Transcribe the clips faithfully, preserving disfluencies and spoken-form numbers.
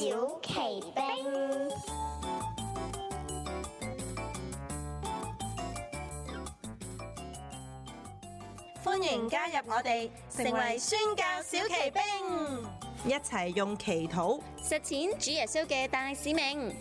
小奇兵， 歡迎加入我哋，成為宣教小奇兵，一齊用祈禱實踐主耶穌嘅大使命。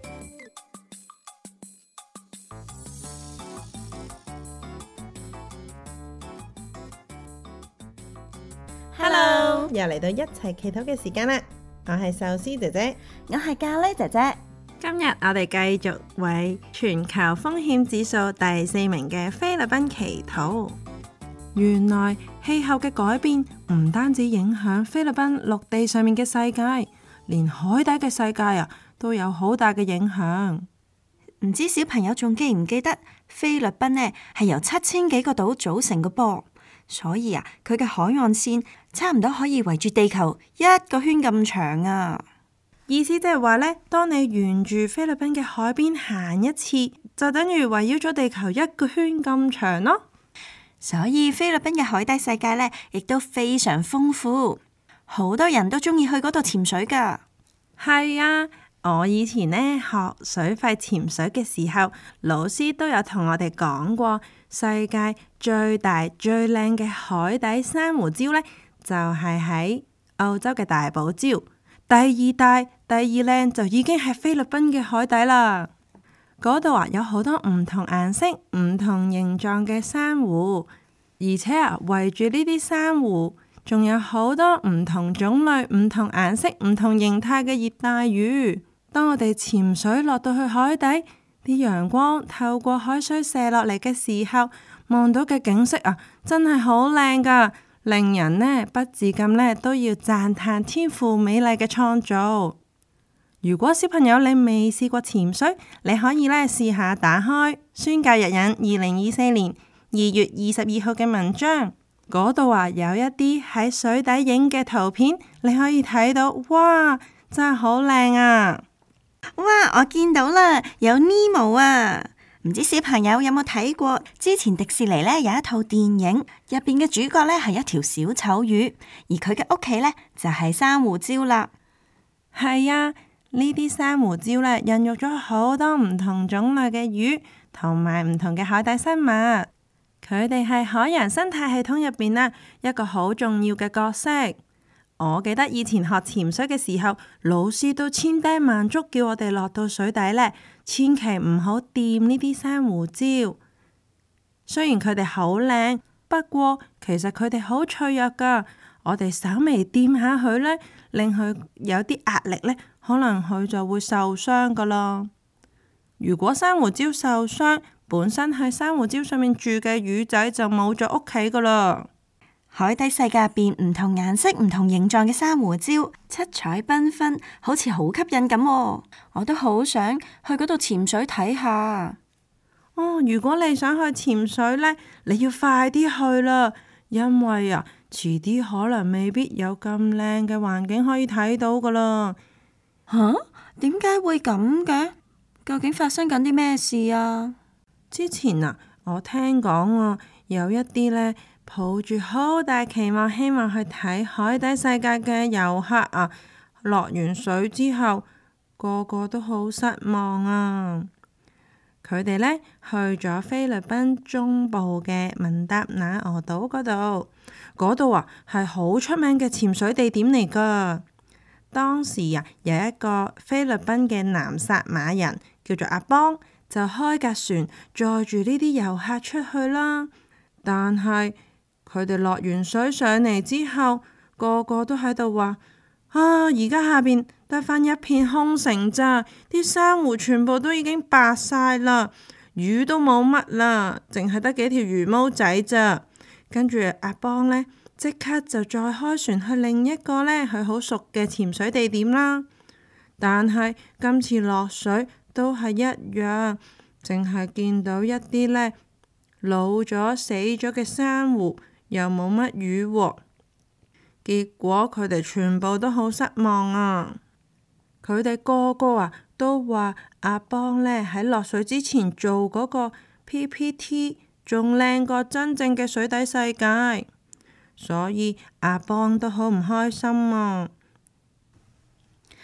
Hello，又嚟到一齊祈禱嘅時間啦！我係壽司姐姐， 我係咖喱姐姐。 今日我哋繼續為全球風險指數第四名嘅菲律賓祈禱。原來氣候嘅改變唔單止影響菲律賓陸地上面嘅世界，連海底嘅世界啊都有好大嘅影響。 唔知小朋友仲記唔記得菲律賓呢係由七千幾個島組成嘅噃，所以啊佢嘅海岸線差唔多可以圍住地球一個圈咁長啊！ 意思即係話呢，當你沿住菲律賓嘅海邊行一次，就等於圍繞咗地球一個圈咁長咯。 所以菲律賓嘅海底世界呢，亦都非常豐富，好多人都中意去嗰度潛水噶。 係啊，我以前呢學水肺潛水嘅時候，老師都有同我哋講過，世界最大最靚嘅海底珊瑚礁呢，就係喺澳洲嘅大堡礁。第二大、第二靚就已經係菲律賓嘅海底啦。嗰度啊有好多唔同顏色、唔同形狀嘅珊瑚，而且啊圍住呢啲珊瑚，仲有好多唔同種類、唔同顏色、唔同形態嘅熱帶魚。當我哋潛水落到去海底，啲陽光透過海水射落嚟嘅時候，望到嘅景色啊，真係好靚噶，令人呢不自禁呢都要讚嘆天父美麗嘅創造。如果小朋友你未試過潛水，你可以呢試下打開宣教日引二零二四年二月二十二號嘅文章，嗰度啊有一啲喺水底影嘅圖片，你可以睇到，哇，真係好靚啊！ 哇，我見到啦，有尼莫啊！唔知小朋友有冇睇過？之前迪士尼呢有一套電影，入邊嘅主角呢係一條小丑魚，而佢嘅屋企呢就係珊瑚礁啦。 係啊。呢啲珊瑚礁呢，孕育咗好多唔同種類嘅魚，同埋唔同嘅海底生物。佢哋係海洋生態系統入邊呢一個好重要嘅角色。我記得以前學潛水嘅時候，老師都千叮萬囑叫我哋落到水底呢，千祈唔好掂呢啲珊瑚礁。雖然佢哋好靚，不過其實佢哋好脆弱噶。我哋稍微掂下佢呢，令佢有啲壓力呢，可能佢就會受傷噶啦。如果珊瑚礁受傷，本身喺珊瑚礁上面住嘅魚仔就冇咗屋企噶啦。 海底世界入邊唔同顏色、唔同形狀嘅珊瑚礁，七彩繽紛，好似好吸引咁。我都好想去嗰度潛水睇下。 哦，如果你想去潛水呢，你要快啲去啦，因為啊，遲啲可能未必有咁靚嘅環境可以睇到噶啦。 吓？點解會咁嘅？究竟發生緊啲咩事啊？ 之前啊，我聽講啊，有一啲呢抱住好大期望，希望去睇海底世界嘅遊客啊，落完水之後，個個都好失望啊。佢哋呢去咗菲律賓中部嘅文達那俄島嗰度，嗰度啊係好出名嘅潛水地點嚟噶。當時啊，有一個菲律賓嘅南撒馬人叫做阿邦，就開架船載住呢啲遊客出去啦。但係佢哋落完水上嚟之後，個個都喺度話：啊，而家下邊得返一片空城咋，啲珊瑚全部都已經白晒啦，魚都冇乜啦，淨係得幾條魚毛仔咋。跟住阿邦呢，即刻就再開船去另一個呢佢好熟嘅潛水地點啦。但係今次落水都係一樣，淨係見到一啲呢老咗死咗嘅珊瑚，又冇乜魚喎。結果佢哋全部都好失望啊！佢哋個個啊都話阿邦呢喺落水之前做嗰個 P P T 仲靚過真正嘅水底世界，所以阿邦都好唔開心啊！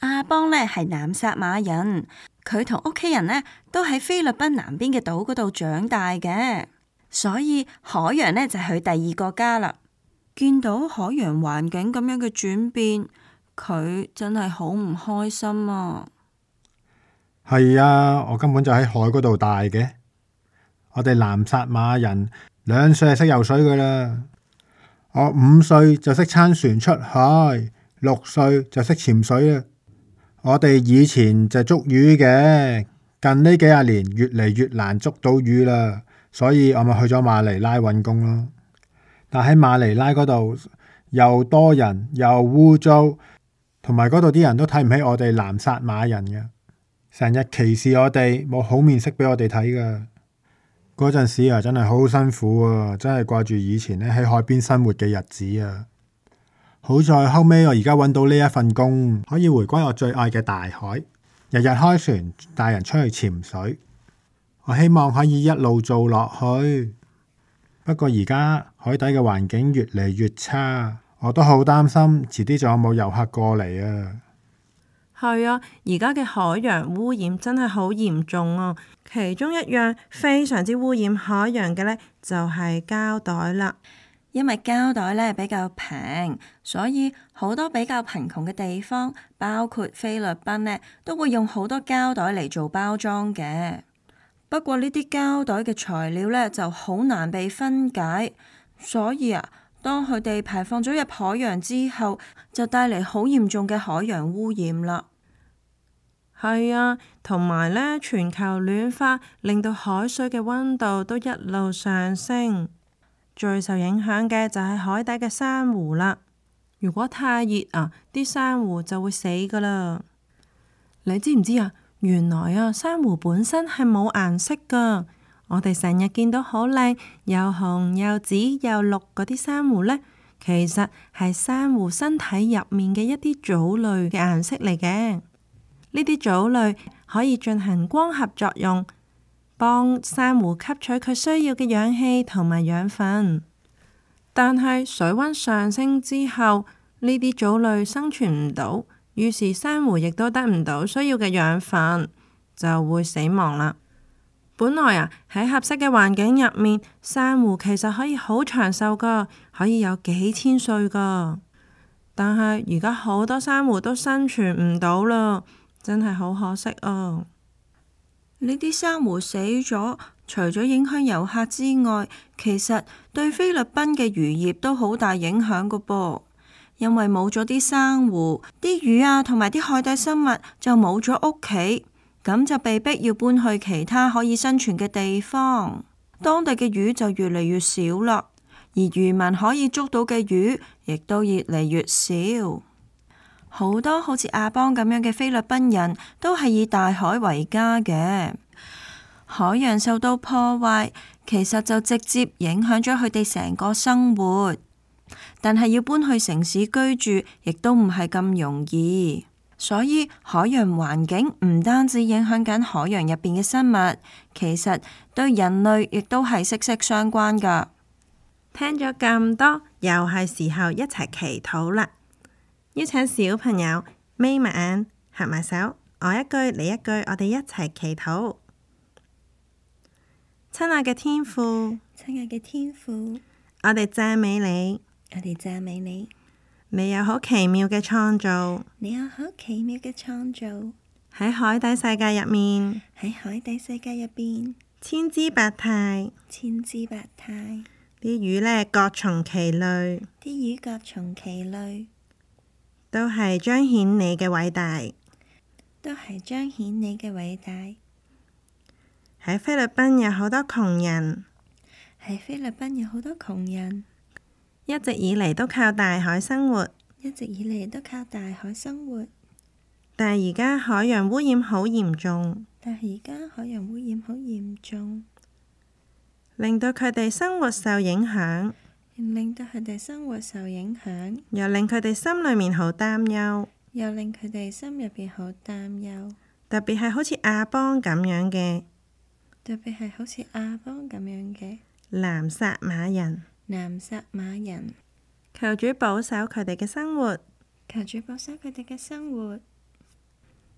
阿邦呢係南撒馬人，佢同屋企人呢都喺菲律賓南邊嘅島嗰度長大嘅，所以海洋呢就係佢第二個家啦。見到海洋環境咁樣嘅轉變，佢真係好唔開心啊！ 係啊，我根本就喺海嗰度大嘅。我哋南撒馬人兩歲就識游水噶啦，我五歲就識撐船出海，六歲就識潛水啦。我哋以前就捉魚嘅，近呢幾廿年越嚟越難捉到魚啦，所以我咪去咗馬尼拉揾工咯。但喺馬尼拉嗰度又多人又污糟，同埋嗰度啲人都睇唔起我哋南撒馬人嘅，成日歧視我哋，冇好面色俾我哋睇噶。嗰陣時啊，真係好辛苦啊！真係掛住以前咧喺海邊生活嘅日子啊！好在後尾我而家揾到呢一份工，可以回歸我最愛嘅大海，日日開船帶人出去潛水。我希望可以一路做落去。不過而家海底嘅環境越嚟越差，我都好擔心，遲啲仲有冇遊客過嚟啊！ 係啊，而家嘅海洋污染真係好嚴重啊！其中一樣非常之污染海洋嘅呢，就係膠袋啦。 因為膠袋呢比較平，所以好多比較貧窮嘅地方，包括菲律賓呢，都會用好多膠袋嚟做包裝嘅。不過呢啲膠袋嘅材料呢，就好難被分解，所以啊，當佢哋排放咗入海洋之後，就帶嚟好嚴重嘅海洋污染啦。 係啊，同埋呢，全球暖化令到海水嘅溫度都一路上升，最受影響嘅就係海底嘅珊瑚啦。如果太熱啊，啲珊瑚就會死噶啦。你知唔知啊？原來啊，珊瑚本身係冇顏色噶。我哋成日見到好靚，又紅又紫又綠嗰啲珊瑚呢，其實係珊瑚身體入面嘅一啲藻類嘅顏色嚟嘅。呢啲藻類可以進行光合作用，幫珊瑚吸取佢需要嘅氧氣同埋養分。但係水溫上升之後，呢啲藻類生存唔到，於是珊瑚亦都得唔到需要嘅養分，就會死亡啦。本來啊，喺合適嘅環境入面，珊瑚其實可以好長壽噶，可以有幾千歲噶。但係而家好多珊瑚都生存唔到啦。真係好可惜啊！ 呢啲珊瑚死咗，除咗影響遊客之外，其實對菲律賓嘅漁業都好大影響噶噃。因為冇咗啲珊瑚，啲魚啊同埋啲海底生物就冇咗屋企，咁就被逼要搬去其他可以生存嘅地方。當地嘅魚就越嚟越少啦，而漁民可以捉到嘅魚亦都越嚟越少。好多好似阿邦咁樣嘅菲律賓人都係以大海為家嘅，海洋受到破壞，其實就直接影響咗佢哋成個生活。但係要搬去城市居住，亦都唔係咁容易。所以海洋環境唔單止影響緊海洋入邊嘅生物，其實對人類亦都係息息相關噶。 聽咗咁多，又係時候一齊祈禱啦！邀請小朋友眯埋眼，合埋手，我一句你一句，我哋一齊祈禱。親愛嘅天父， 親愛嘅天父， 我哋讚美你， 我哋讚美你， 你有好奇妙嘅創造， 你有好奇妙嘅創造， 喺海底世界入面， 喺海底世界入邊， 千姿百態， 千姿百態， 啲魚呢各從其類， 啲魚各從其類。 都係彰顯你嘅偉大， 都係彰顯你嘅偉大。 喺菲律賓有好多窮人， 喺菲律賓有好多窮人， 一直以嚟都靠大海生活， 一直以嚟都靠大海生活。 但係而家海洋污染好嚴重， 但係而家海洋污染好嚴重， 令到佢哋生活受影響。 令到佢哋生活受影響， 又令佢哋心裏面好擔憂， 又令佢哋心入邊好擔憂。 特別係好似阿邦咁樣嘅， 特別係好似阿邦咁樣嘅南撒馬人， 南撒馬人， 求主保守佢哋嘅生活， 求主保守佢哋嘅生活。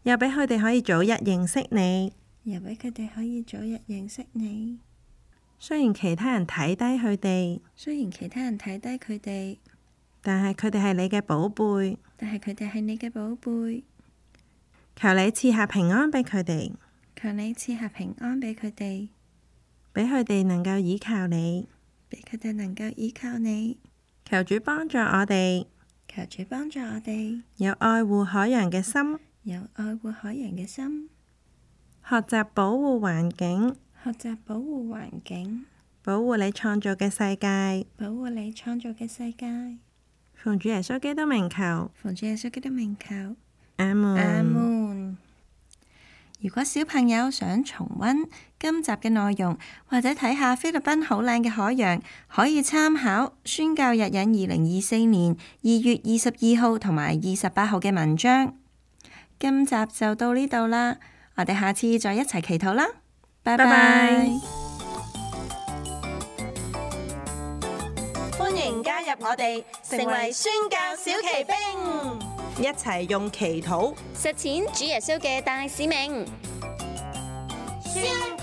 又俾佢哋可以早日認識你， 又俾佢哋可以早日認識你。 雖然其他人睇低佢哋， 雖然其他人睇低佢哋， 但係佢哋係你嘅寶貝， 但係佢哋係你嘅寶貝。 求你賜下平安俾佢哋， 求你賜下平安俾佢哋， 俾佢哋能夠依靠你， 俾佢哋能夠依靠你。 求主幫助我哋， 求主幫助我哋， 有愛護海洋嘅心， 有愛護海洋嘅心， 學習保護環境， 學習保護環境， 保護你創造嘅世界， 保護你創造嘅世界。 奉主耶穌基督名求， 奉主耶穌基督名求， 阿門。 阿門。如果小朋友想重溫今集嘅內容，或者睇下菲律賓好靚嘅海洋，可以參考宣教日引二零二四年二月二十二號同埋二十八號嘅文章。今集就到呢度啦，我哋下次再一齊祈禱啦，拜拜。 歡迎加入我哋，成為宣教小騎兵， 一齊用祈禱實踐主耶穌嘅大使命。宣